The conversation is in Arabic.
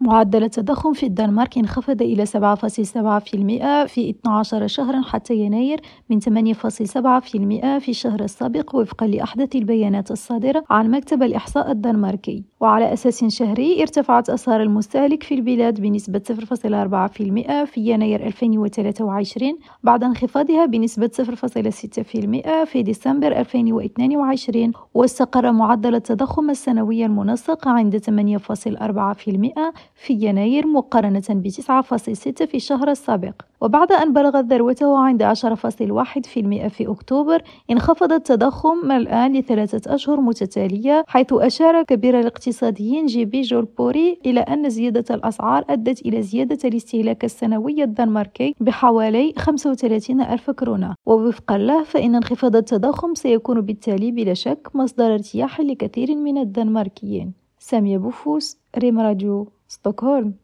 معدل التضخم في الدنمارك انخفض إلى 7.7% في 12 شهرا حتى يناير من 8.7% في الشهر السابق وفقا لأحدث البيانات الصادرة عن مكتب الإحصاء الدنماركي. وعلى أساس شهري ارتفعت أسعار المستهلك في البلاد بنسبة 0.4% في يناير 2023 بعد انخفاضها بنسبة 0.6% في ديسمبر 2022، واستقر معدل التضخم السنوي المنسق عند 8.4% في يناير مقارنة ب9.6% في الشهر السابق. وبعد أن بلغت ذروته عند 10.1% في أكتوبر، انخفض التضخم الآن لثلاثة أشهر متتالية، حيث أشار كبير الاقتصاديين جي.بي. جولبوري إلى أن زيادة الأسعار أدت إلى زيادة الاستهلاك السنوي الدنماركي بحوالي 35,000 كرونة. ووفقا له فإن انخفاض التضخم سيكون بالتالي بلا شك مصدر ارتياح لكثير من الدنماركيين. سامية بوفوس، ريم راديو، ستوكهولم.